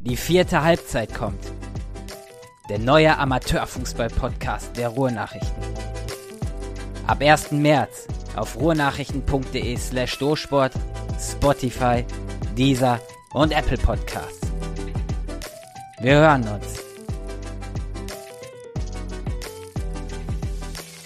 Die 4. Halbzeit kommt. Der neue Amateurfußball-Podcast der Ruhrnachrichten. Ab 1. März auf ruhrnachrichten.de/dosport, Spotify, Deezer und Apple Podcasts. Wir hören uns.